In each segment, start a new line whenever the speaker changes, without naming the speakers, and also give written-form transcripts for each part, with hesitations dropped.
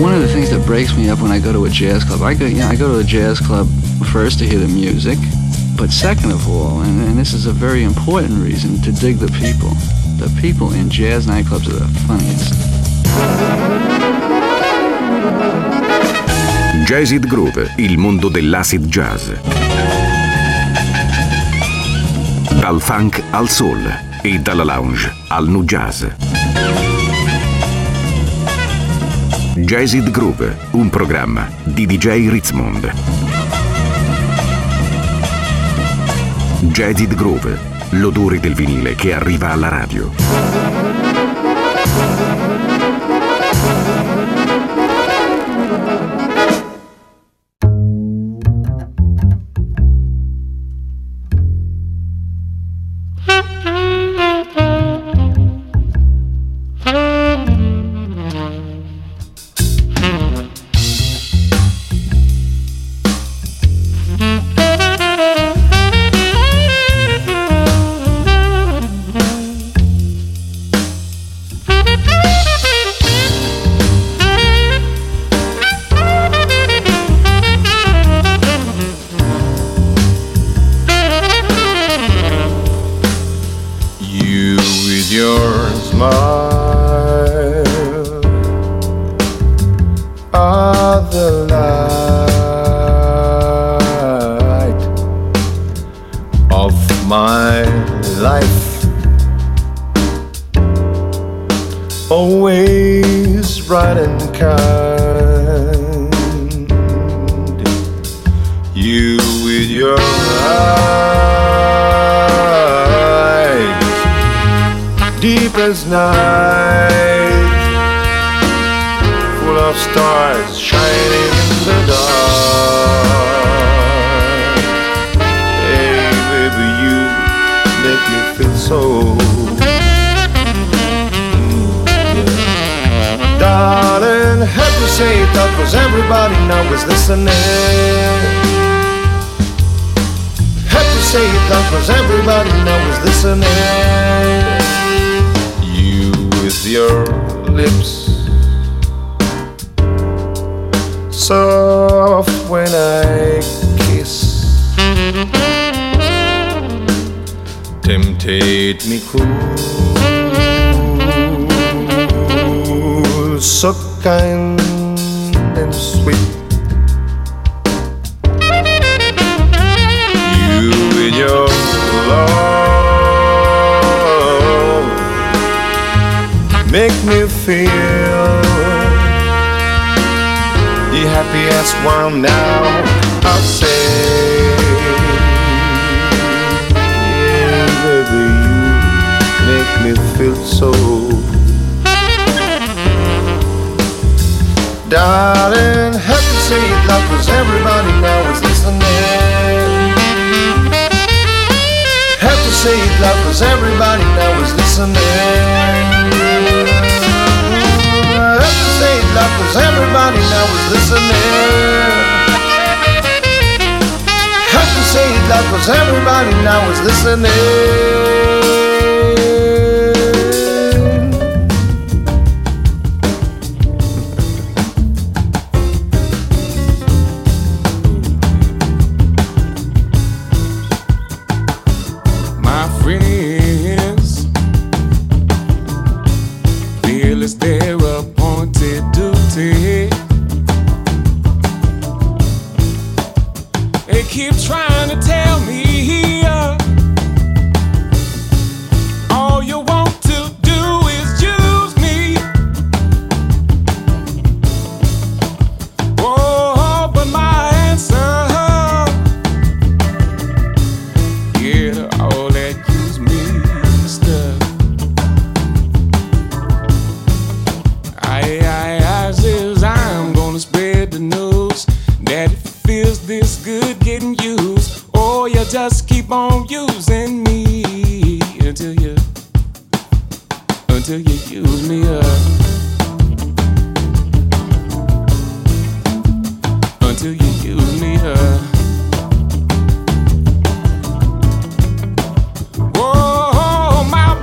One of the things that breaks me up when I go to a jazz club, I go to a jazz club first to hear the music, but second of all, and this is a very important reason, to dig the people. The people in jazz nightclubs are the funniest.
Jazzid Groove, il mondo dell'acid jazz. Dal funk al soul e dalla lounge al nu jazz. Jazzid Groove, un programma di DJ Ritzmond. Jazzid Groove, l'odore del vinile che arriva alla radio.
Always bright and kind. You with your eyes, deep as night, full of stars shining in the dark. Hey baby, you make me feel so. Darling, had to say it out 'cause everybody now is listening. Had to say it out 'cause everybody now is listening. You with your lips, soft when I kiss, temptate me cool, so kind and sweet. You with your love make me feel the happiest one now. I'll say, yeah, baby, you make me feel so. Darling, have to say it loud 'cause everybody now is listening. Have to say it loud 'cause everybody now is listening. Have to say it loud 'cause everybody now is listening. Have to say it loud 'cause everybody now is listening.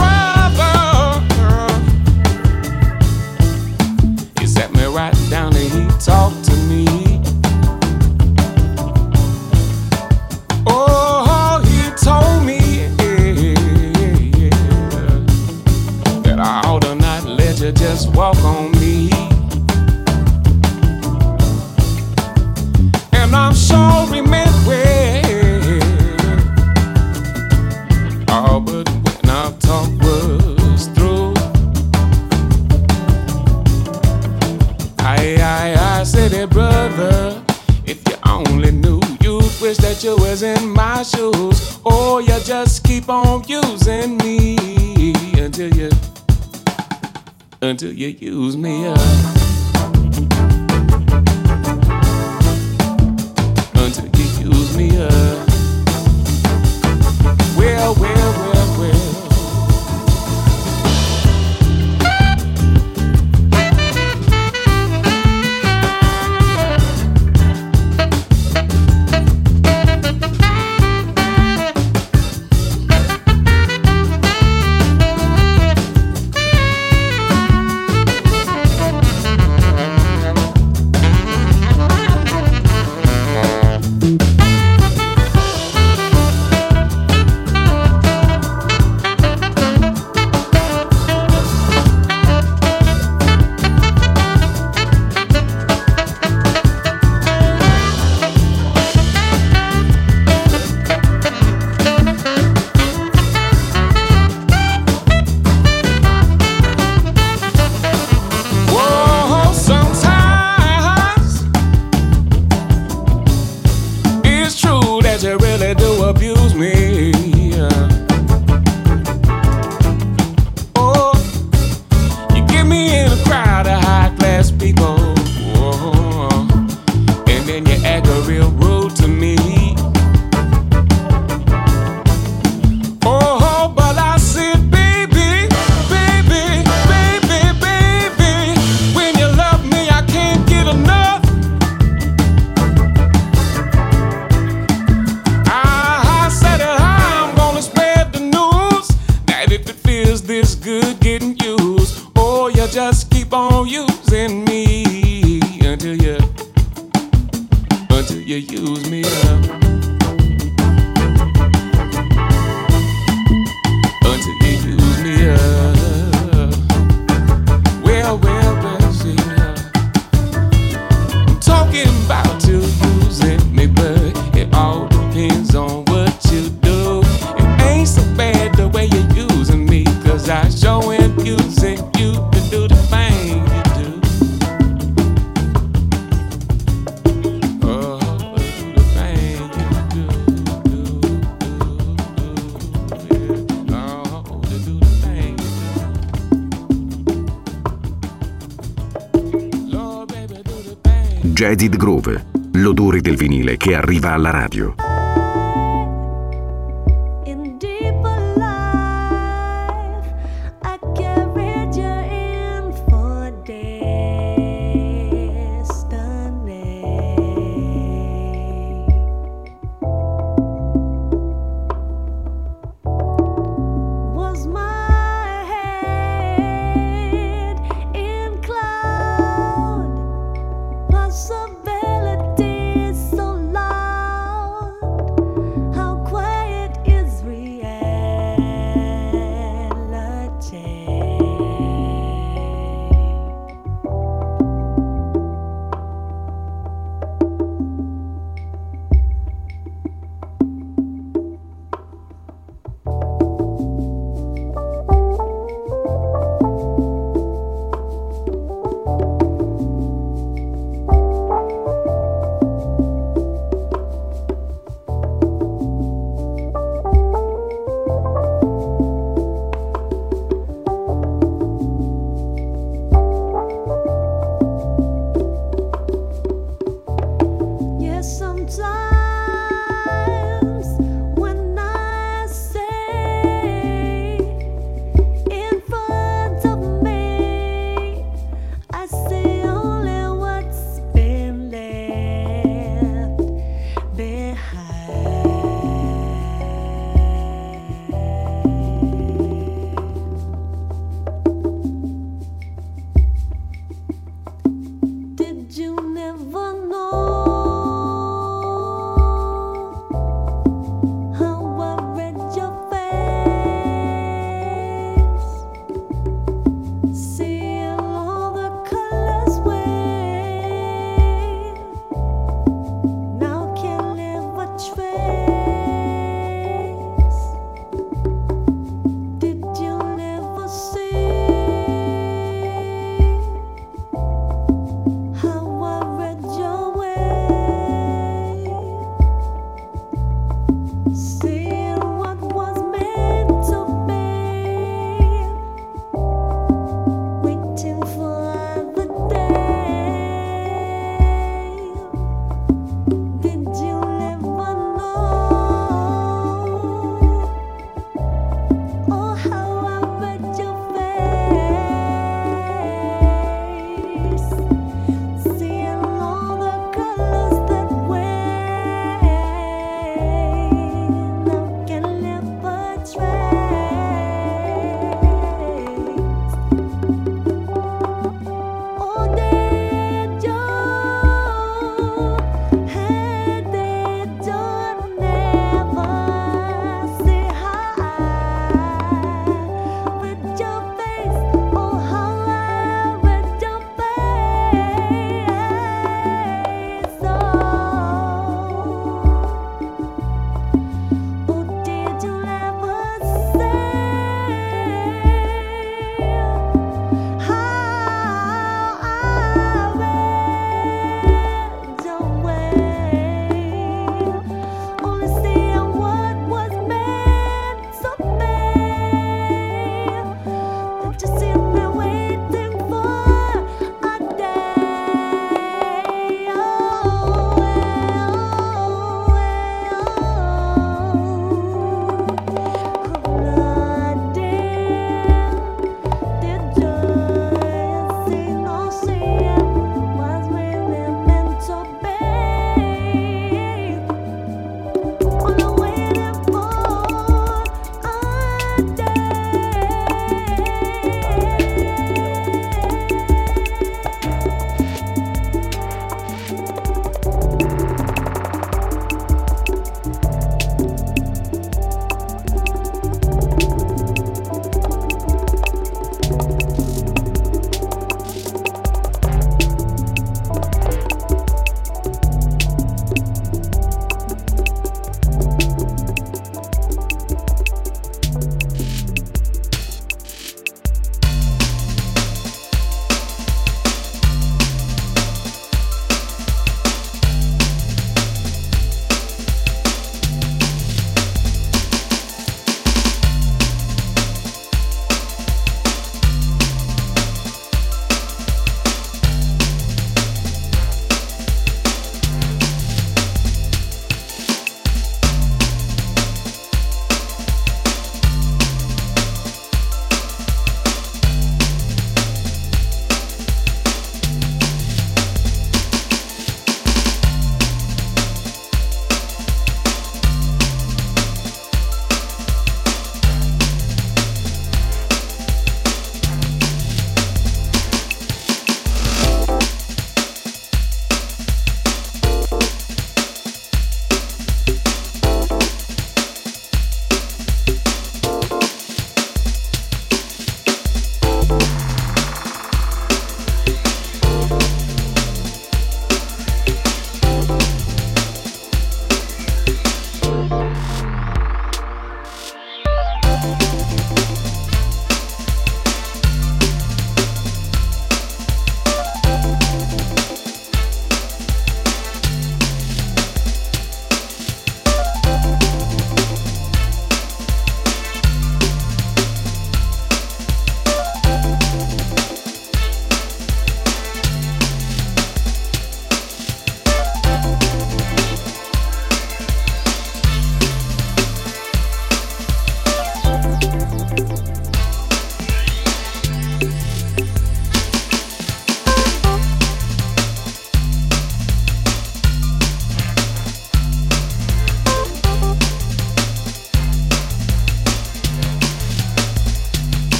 Down the you just walk on me. And I'm sure we meant well. Oh, but when our talk was through, I said, hey, brother, if you only knew, you'd wish that you was in my shoes. Or you just keep on using me until you use me up. Until you use me up. Well, well, well, well.
Jaded Groove, l'odore del vinile che arriva alla radio.
Possibilities so long.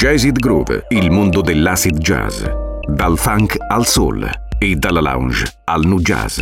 Jazzid Groove, il mondo dell'acid jazz, dal funk al soul e dalla lounge al nu jazz.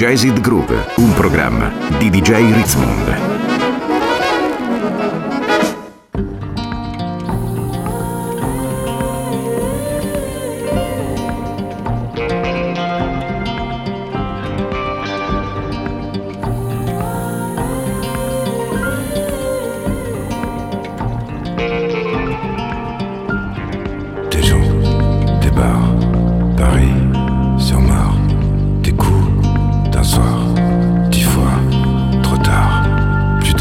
Jazzed Groove, un programma di DJ Ritzmond.
Des coups d'un soir, 10 fois, trop tard, plus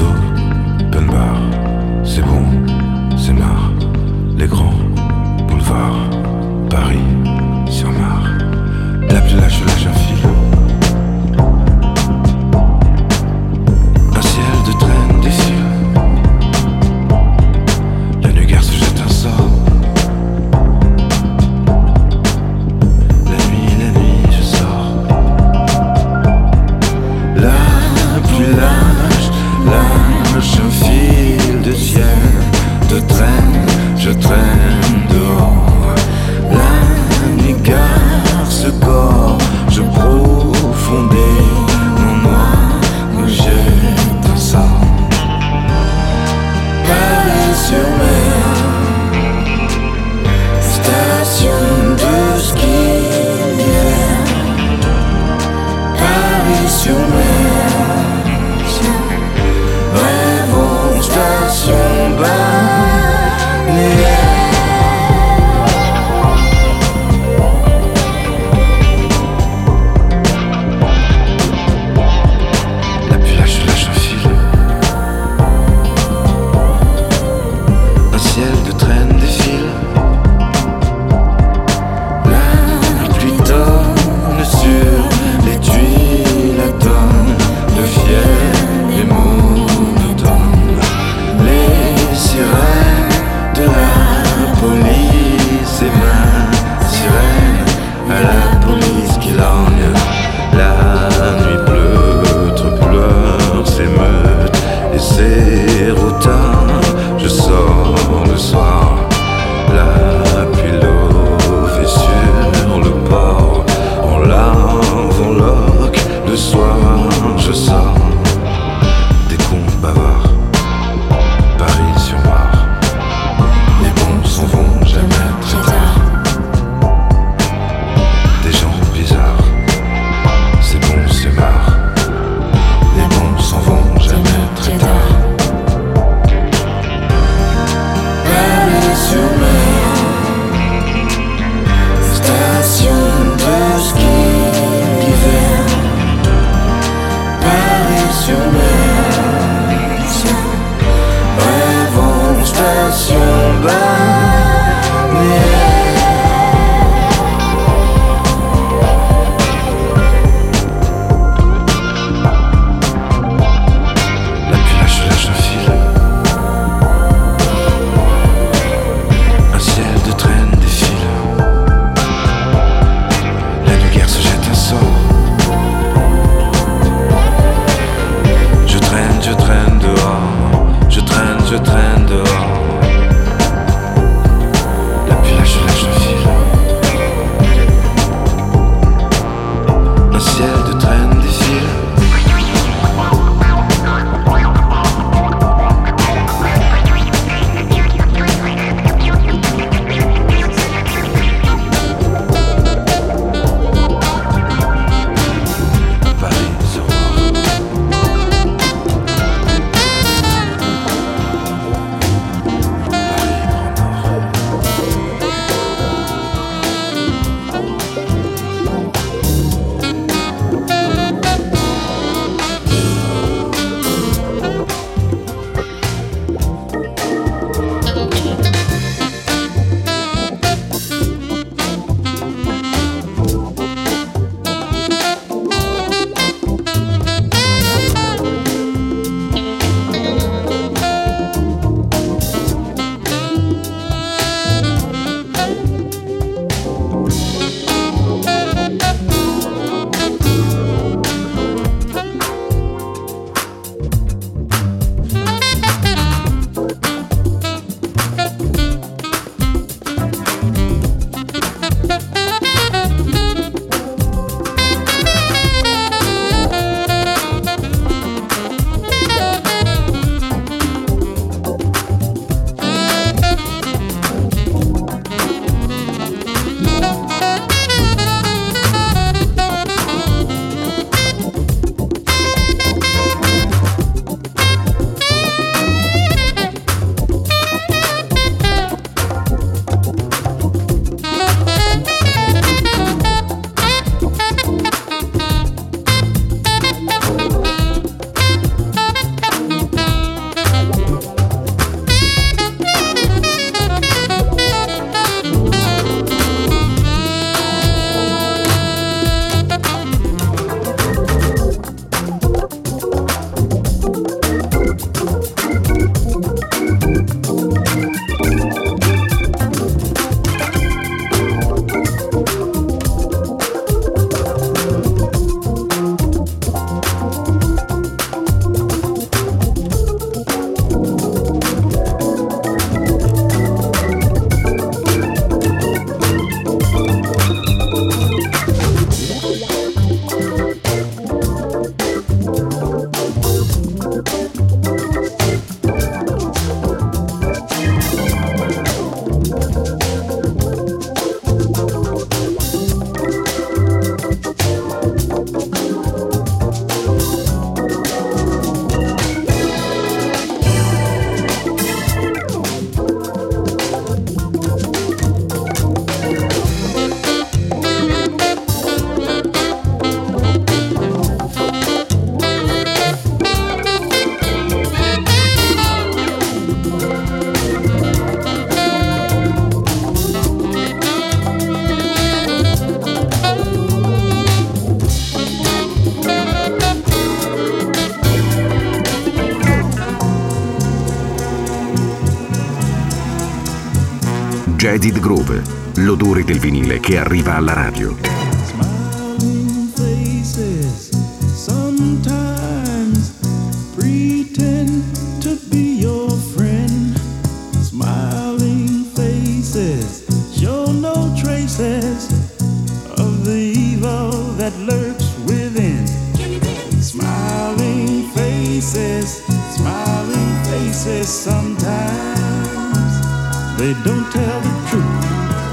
Jaded Groove, l'odore del vinile che arriva alla radio.
Smiling faces sometimes pretend to be your friend. Smiling faces show no traces of the evil that lurks within. Smiling faces sometimes they don't tell the truth.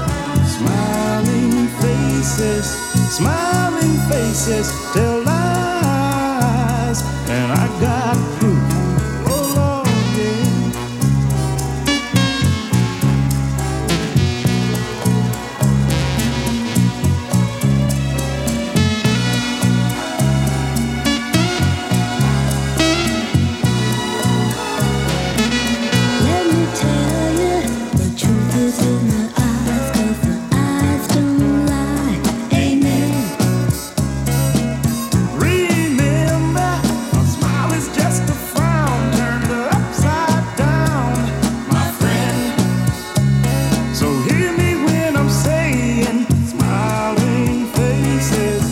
Smiling faces tell lies, and I got proof. Oh Lord, yeah.
Let me tell you, the truth is in the eyes, 'cause the eyes don't lie. Amen.
Remember, a smile is just a frown turned upside down, my friend. So hear me when I'm saying, smiling faces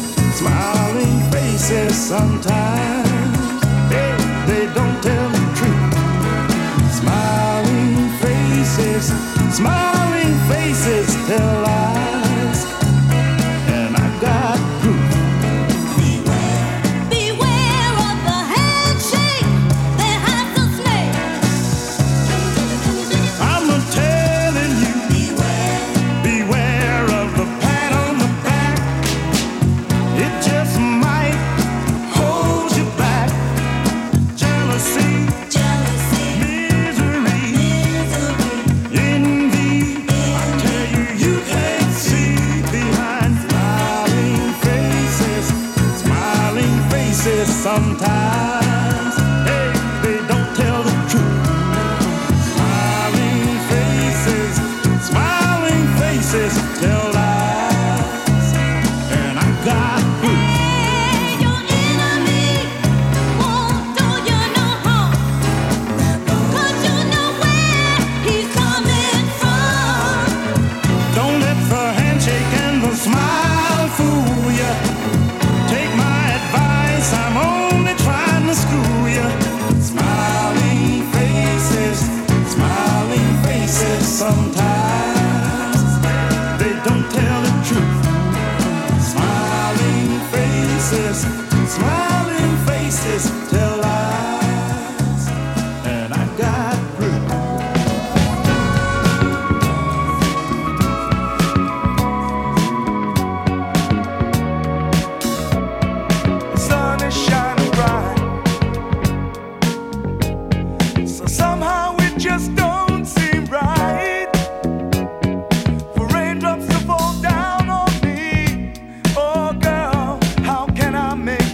sometimes they don't tell the truth. Smiling faces tell lies, and I got proof.
Beware of the handshake that hides the snake.
I'm telling you, beware of the pat on the back. It just might hold you back. Jealousy, misery, envy. I tell you, you can't see behind smiling faces sometimes. Hey, they don't tell the truth. Smiling faces tell lies, and I got proof.
Hey, your enemy won't do you no harm, 'cause you know where he's coming from.
Don't let the handshake and the smile fool ya. Take my advice, I'm only trying to school ya. Smiling faces sometimes they don't tell the truth. Smiling faces tell lies, and I got proof.
Sun is shining bright, so somehow it just don't seem right for raindrops to fall down on me. Oh girl, how can I make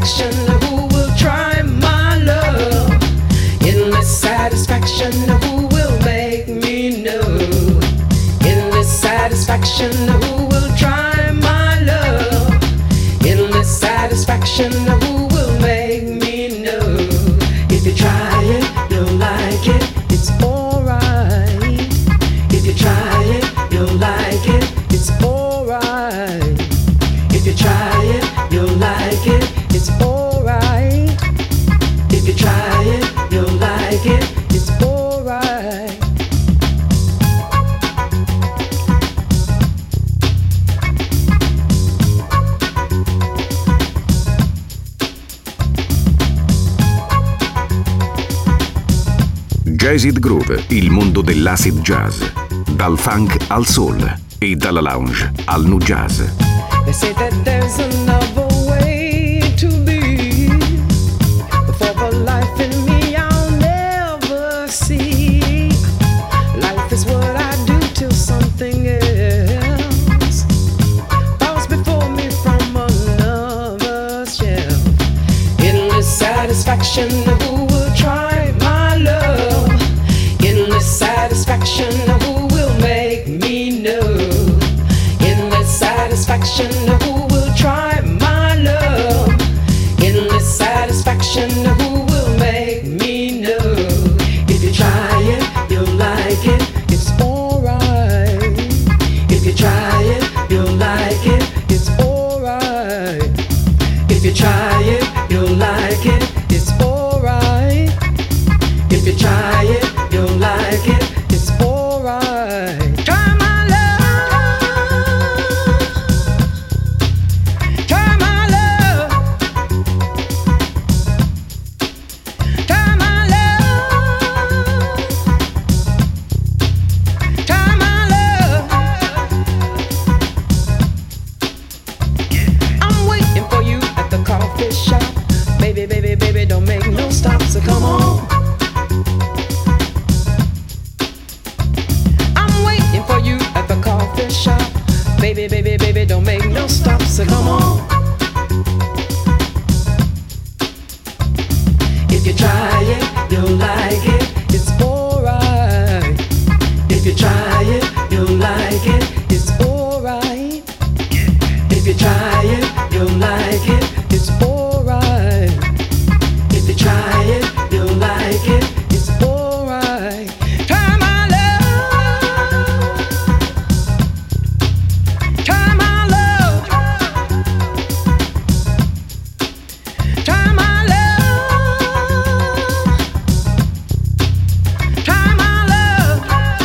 satisfaction, who will try my love? Endless satisfaction, who will make me know? Endless satisfaction, who will try my love? Endless satisfaction, who will make me know? If you try it, you'll like it, it's alright. If you try it, you'll like it, it's alright. If you try it, you'll like it, it's alright. If you try it, you'll like it, it's alright.
Jazz It Groove, il mondo dell'acid jazz. Dal funk al soul e dalla lounge al nu jazz.
They say that there's another way to be, but for the life in me I'll never see. Life is what I do till something else falls before me from another shelf. Endless satisfaction, who will try my love? Endless satisfaction, who will make me know? Endless satisfaction, who will try my love? Endless satisfaction, who will make me know? If you try it, you'll like it, it's alright. If you try it, you'll like it, it's alright. If you try it, you'll like it, it's alright. If you try it, you'll like it, it's alright. Try my love. Try my love. Try my love. Try my love. I'm waiting for you at the coffee shop. Baby, baby, baby, don't make no stop, so come on. I'm waiting for you at the coffee shop. Baby, baby, baby, don't make no stop, so come on. If you try it, you'll like it, it's alright. If you try it, you'll like it, it's alright. If you try it, you'll like it, it's alright. If you try it, you'll like it, it's alright. Try my love. Try my love. Try my love. Try my love.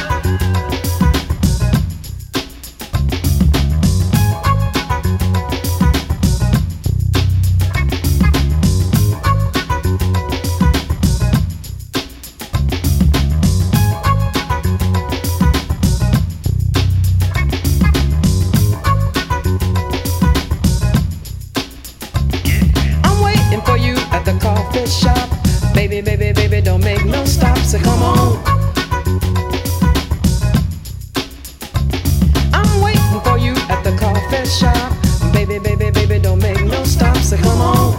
I'm waiting for you at the coffee shop. Baby, baby, baby, don't make no stop, so come on. I'm waiting for you at the coffee shop. Baby, baby, baby, don't make no stop, so come on.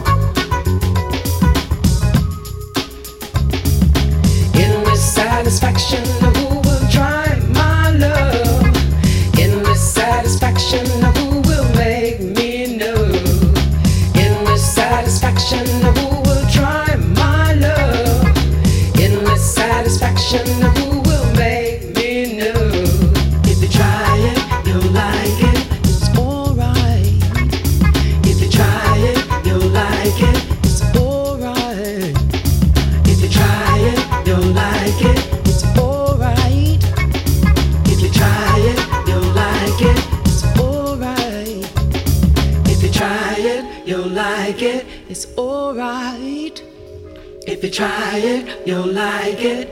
Endless satisfaction, who will try my love? Endless satisfaction, who will make me know? Endless satisfaction, who will try my love? Endless satisfaction, who will make me know? If you try it, you'll like it, it's alright. If you try it, you'll like it, it's alright. If you try it, you'll like it, it's alright. If you try it, you'll like it, it's alright. If you try it, you'll like it, it's alright. If you try it, you'll like it.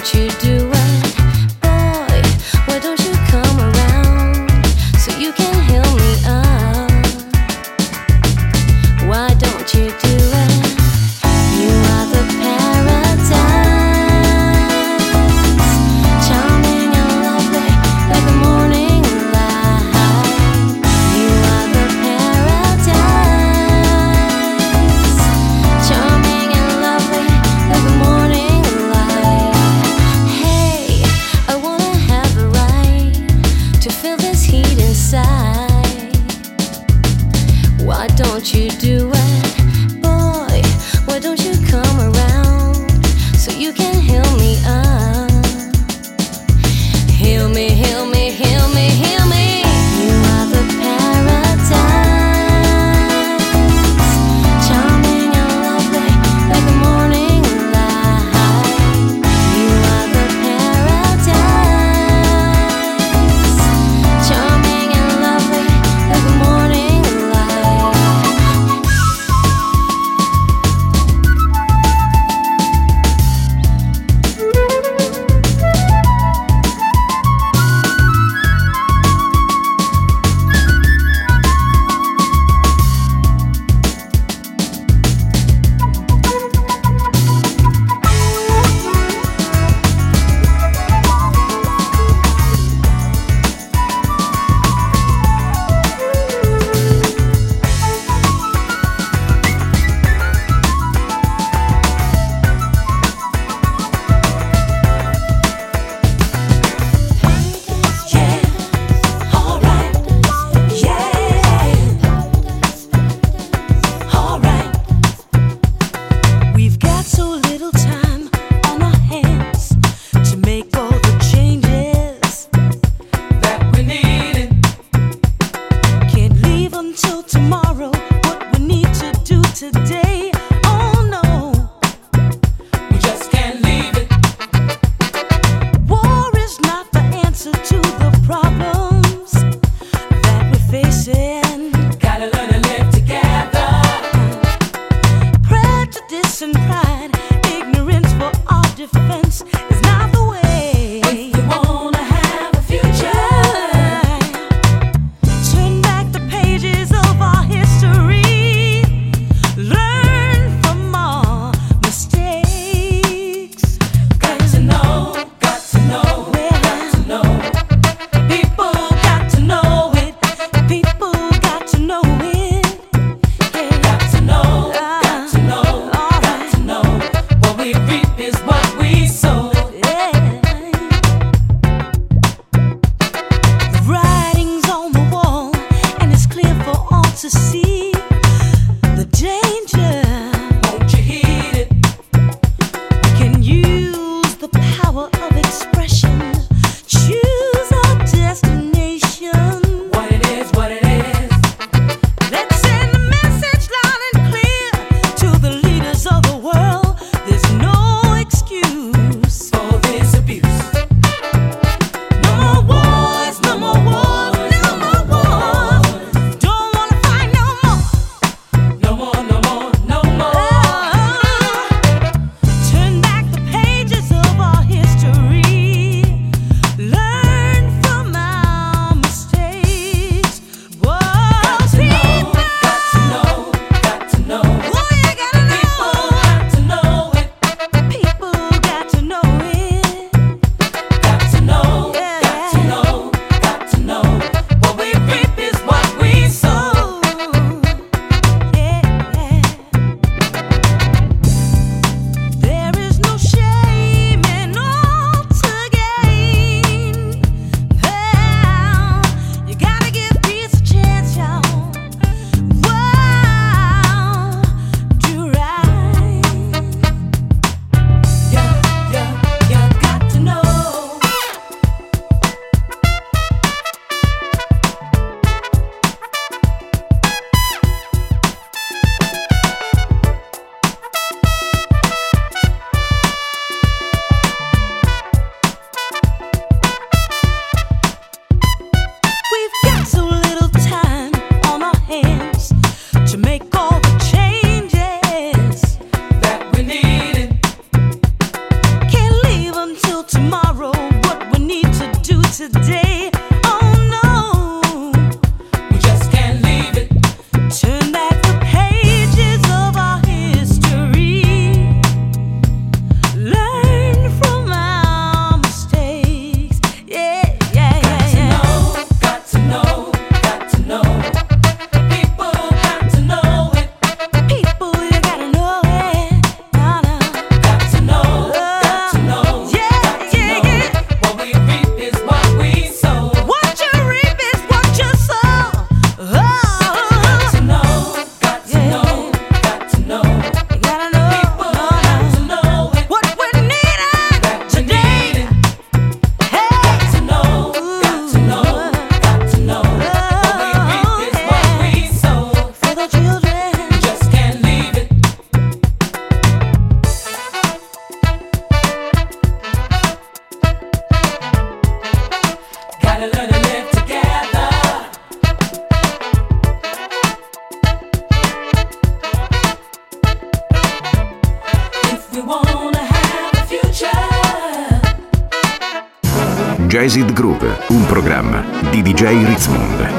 Charming and lovely like the morning light.
Jazzed Groove, un programma di DJ Ritzmond.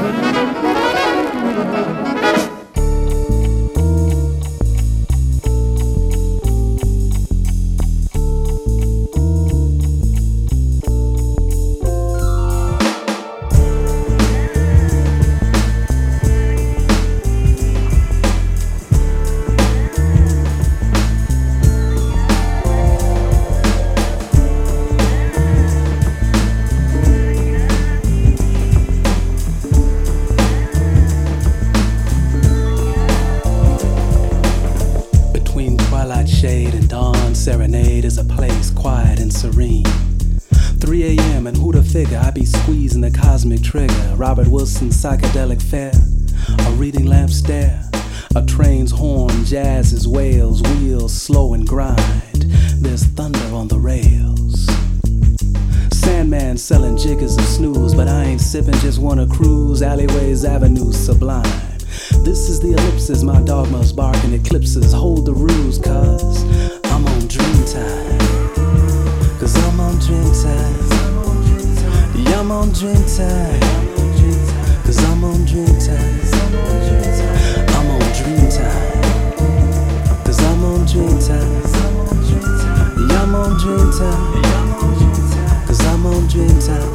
Serenade is a place quiet and serene. 3 a.m. and who to figure I be squeezing the cosmic trigger. Robert Wilson's psychedelic fare, a reading lamp stare, a train's horn, jazz's wails, wheels slow and grind. There's thunder on the rails. Sandman selling jiggers of snooze, but I ain't sipping, just wanna cruise alleyways, avenues sublime. This is the ellipsis, my dogmas barking eclipses. Hold the ruse, cuz I'm on dream time. Cause I'm on dream time. Yeah, I'm on dream time. Cause I'm on dream time. I'm on dream time. Cause I'm on dream time. Yeah, I'm on dream time. Cause I'm on dream time.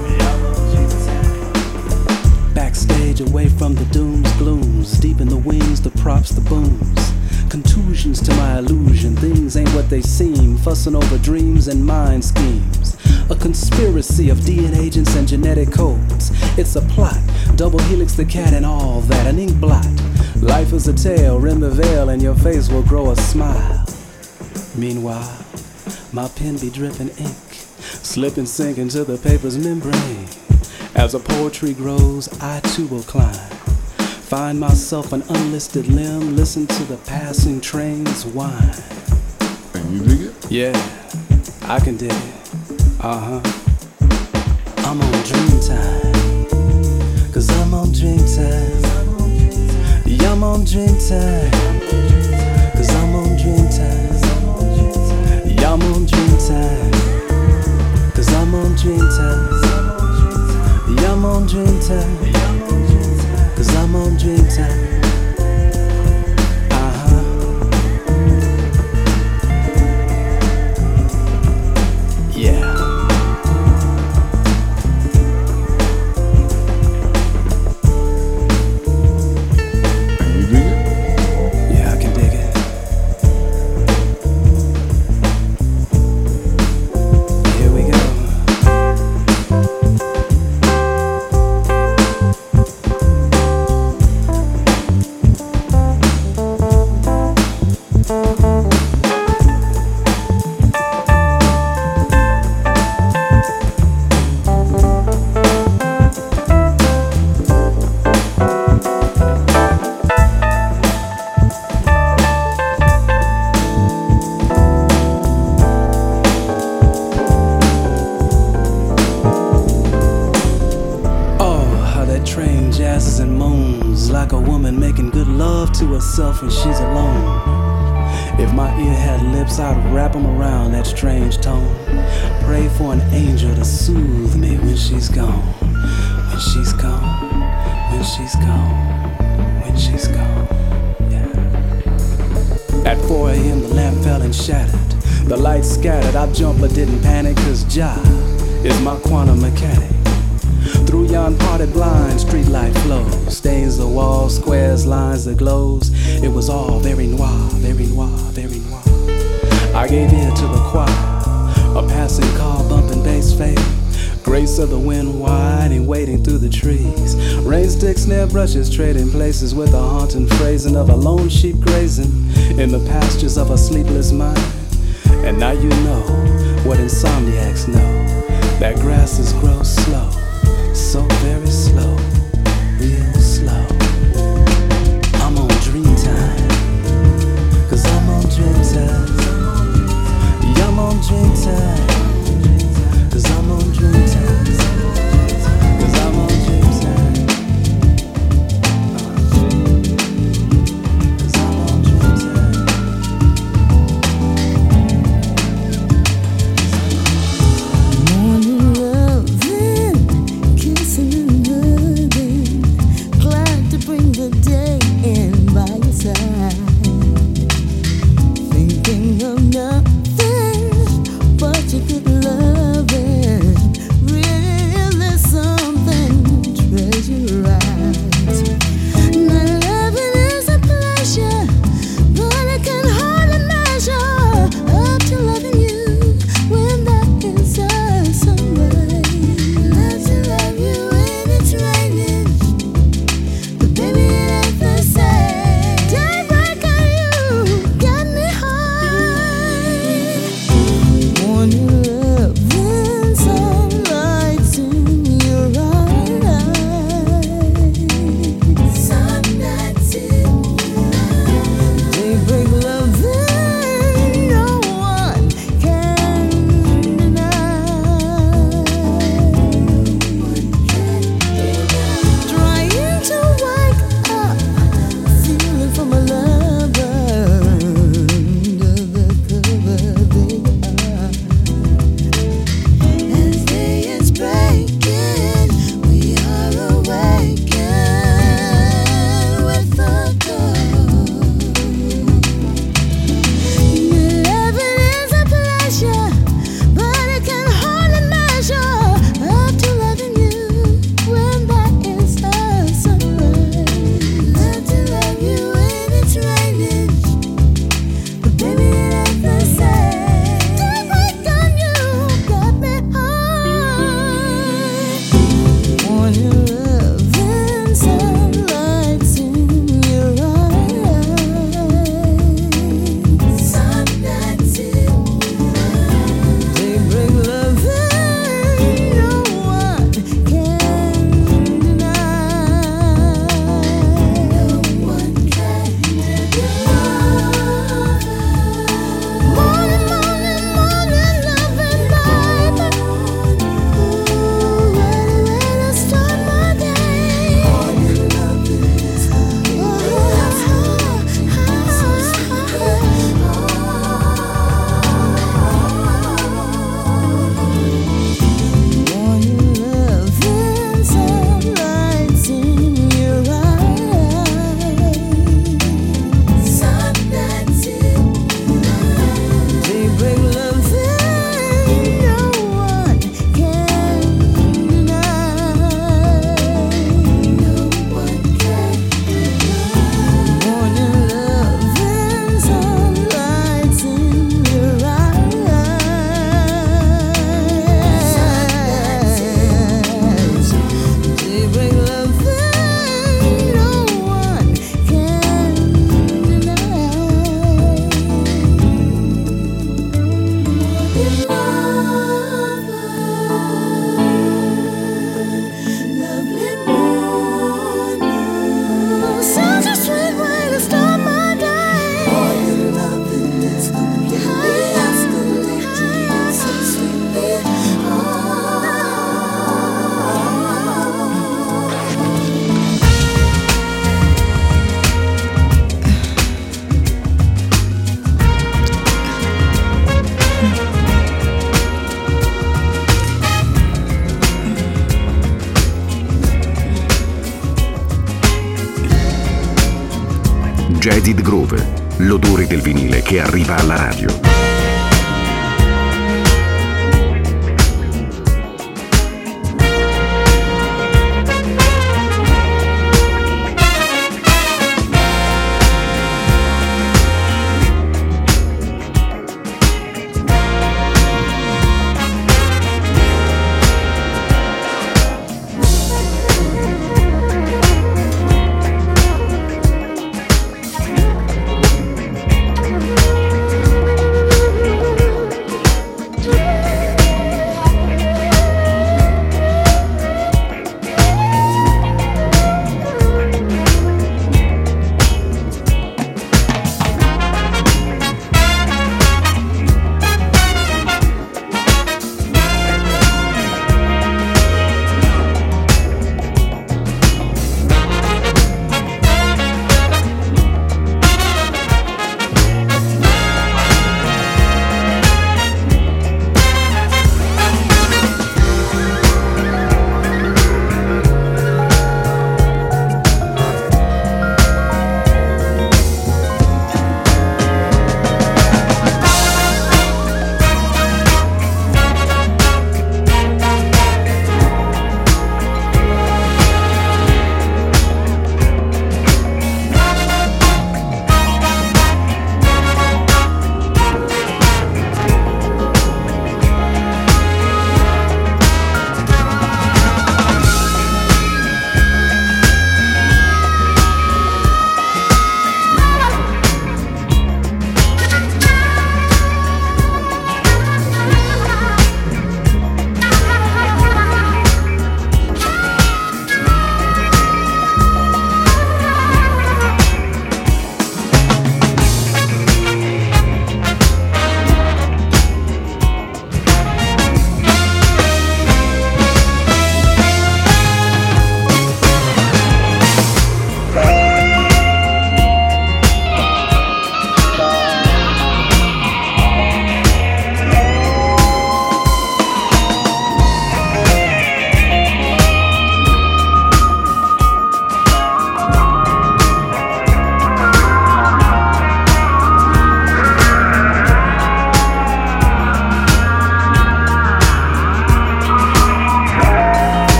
Backstage away from the dooms, glooms, deep in the wings, the props, the booms. Contusions to my illusion, things ain't what they seem. Fussing over dreams and mind schemes. A conspiracy of DNA agents and genetic codes. It's a plot, double helix the cat and all that, an ink blot. Life is a tale, rend the veil and your face will grow a smile. Meanwhile, my pen be dripping ink, slip and sink into the paper's membrane. As the poetry grows, I too will climb. Find myself an unlisted limb, listen to the passing trains whine.
Can you dig it?
Yeah, I can dig it. Uh-huh. I'm on dream time. Cause I'm on dream time. Yeah, I'm on dream time. Cause I'm on dream time. Yeah, I'm on dream time. Cause I'm on dream time. Yeah, I'm on dream time. Cause I'm on dream time. Yeah.
Can you dig it?
Yeah, I can dig it. Here we go. When she's alone. If my ear had lips, I'd wrap 'em around that strange tone. Pray for an angel to soothe me when she's gone. When she's gone. When she's gone. When she's gone. Yeah. At 4 a.m. the lamp fell and shattered. The lights scattered. I jumped but didn't panic, cause Jah is my quantum mechanic. Through yon parted blinds, street light flows, stains the walls, squares, lines, the glows. It was all very noir, very noir, very noir. I gave ear to the choir, a passing car bumping bass fade. Grace of the wind winding, waiting through the trees. Rain sticks, snare brushes, trading places with a haunting phrasing of a lone sheep grazing in the pastures of a sleepless mind. And now you know what insomniacs know, that grasses grow slow. So very slow, real slow. I'm on dream time. Cause I'm on dream time. Yeah, I'm on dream time. Cause I'm on dream time. Cause I'm on dream time. Cause I'm on dream time.
Morning loving.
Acid Groove, l'odore del vinile che arriva alla radio.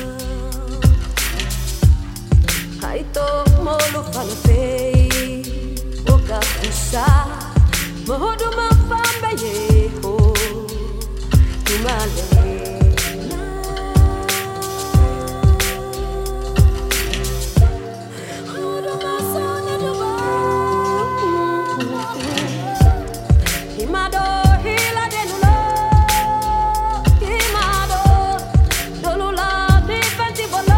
Ai to mo lo fa la fei Mahuduma fambe ye ho Tumale Mahuduma sonya duba Himado hila denulo Himado dolula difenti bolo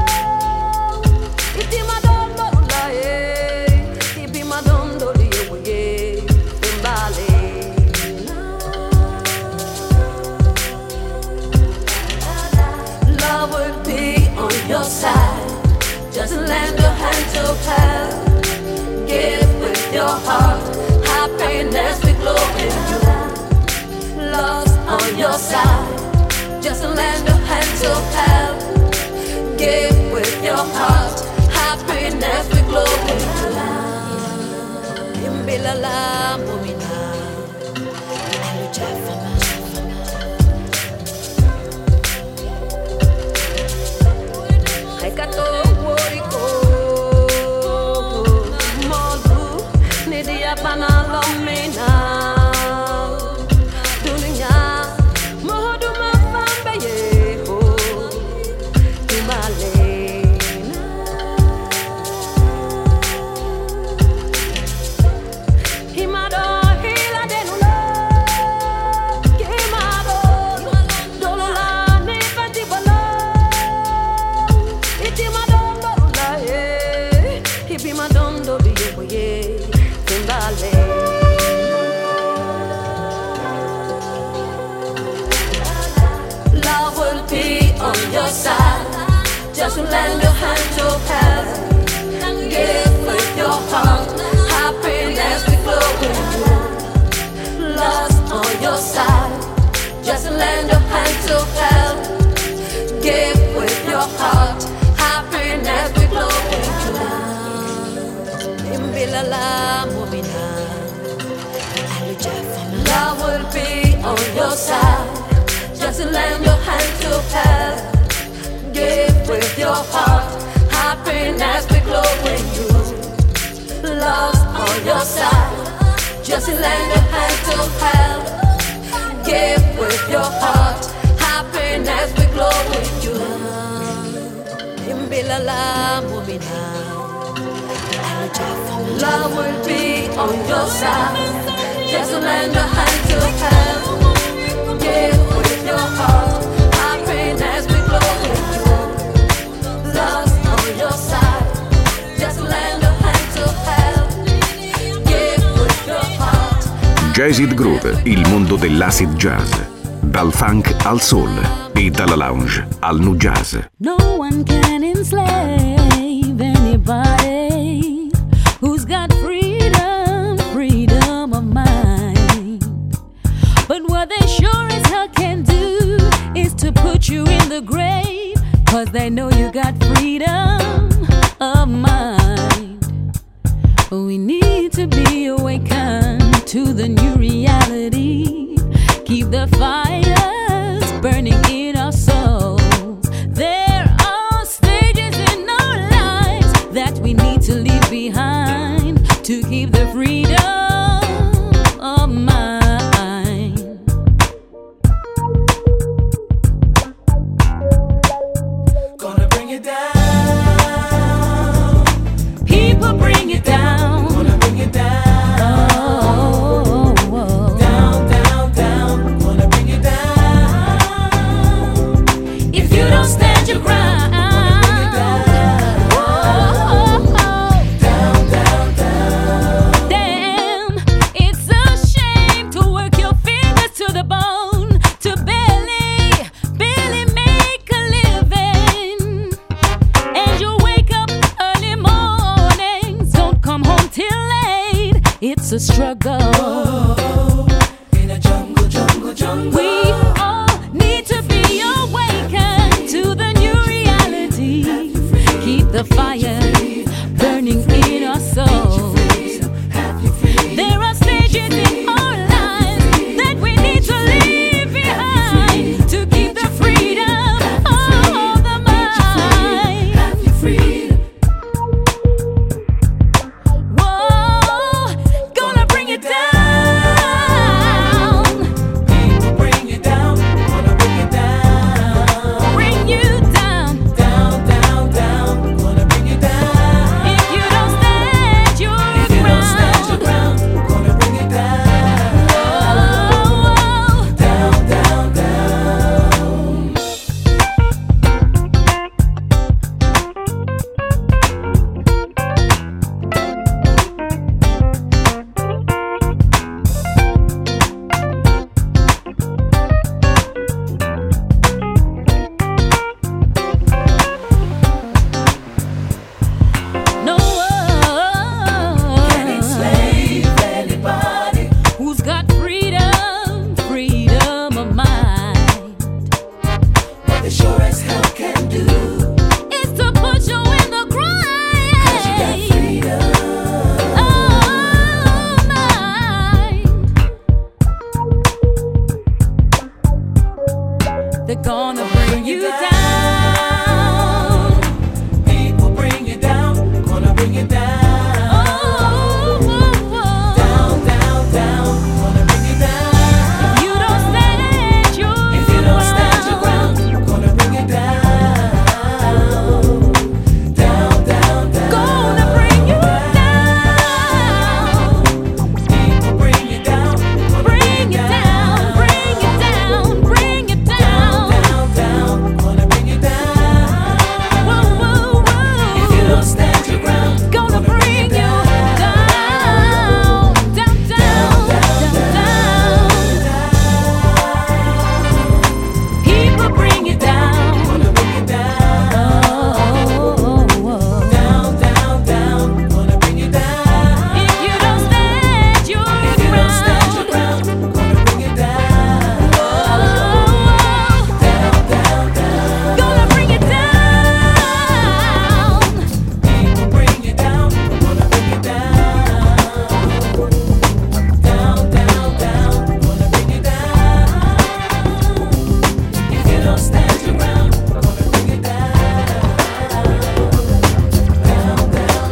Itimado dolula Ibimado doli ye Imbale Love will be on your side. Just lend a hand to help. Give with your heart. Happiness will glow in you. Love's on your side. Just lend a hand to help. Give with your heart. Happiness will glow in you. Imbilala mumina. Alujafama. Kato woriko Modu Nidia Panalomina Dunia Mohuduma Fambe Yeho Tumalena Himado Hila Denula Himado Dolula Nifati Bala Madondo biye Timbale Love will be on your side. Just lend a hand to help. Give with your heart. Happiness will flow with you. Love's on your side. Just lend a hand to help. Give with your heart. Happiness will flow with you. Imbilala mumina. Love will be on your side. Just lend your hand to help. Give with your heart. Happiness will glow in you. Love's on your side. Just lend your hand to help. Give with your heart. Happiness will glow in you. Imbilala mumina. Love will be on your side. Just lend a hand to help. Give with your heart. Happiness will glow with you. Love's on your side. Just lend a hand to help. Give with your heart.
Jazz It Groove, il mondo dell'acid jazz. Dal funk al soul e dalla lounge al nu jazz.
No one can enslave anybody who's got freedom, freedom of mind. But what they sure as hell can do is to put you in the grave, 'cause they know you got freedom of mind. We need to be awakened to the new reality. Keep the fires burning in our souls. There are stages in our lives that we need to leave behind to keep the freedom of mind.
Gonna bring it down.
People bring it down.
Gonna bring it down. Down, down, down. Gonna bring it down.
If you don't stand your ground.
Down, down, down.
Damn, it's a shame to work your fingers to the bone to barely make a living. And you wake up early mornings, don't come home till late. It's a struggle.
In a jungle, jungle, jungle.
We all need to be awakened to the new reality. Keep the fire burning in our souls. There are stages in our lives that we need to leave behind to keep the freedom of the mind. Whoa, gonna bring it down. they're gonna bring you down.
People bring you down, gonna bring you down. Down, down, down, gonna bring you down.
If you don't stand your
ground, gonna bring you down. Down, down, down,
gonna bring you down.
People bring you down, gonna
Bring it down, bring it down, bring it down.
down, down, gonna bring you down.
Whoa, whoa, whoa.
If you don't stand your ground,
Gonna bring you down, down, down, down, down. People bring you down.
gonna bring you down. Down, down, down, gonna bring you down.
If you don't stand your
If you don't stand your
ground,
ground, gonna bring you down. Down, down, down,
gonna bring you down.
people bring you down, gonna bring you down. Down, down, down, gonna bring you down. If you don't stand your ground, gonna bring you down. Down, down,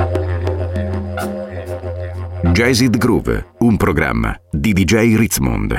Jazzed Groove, un programma di DJ Ritzmond.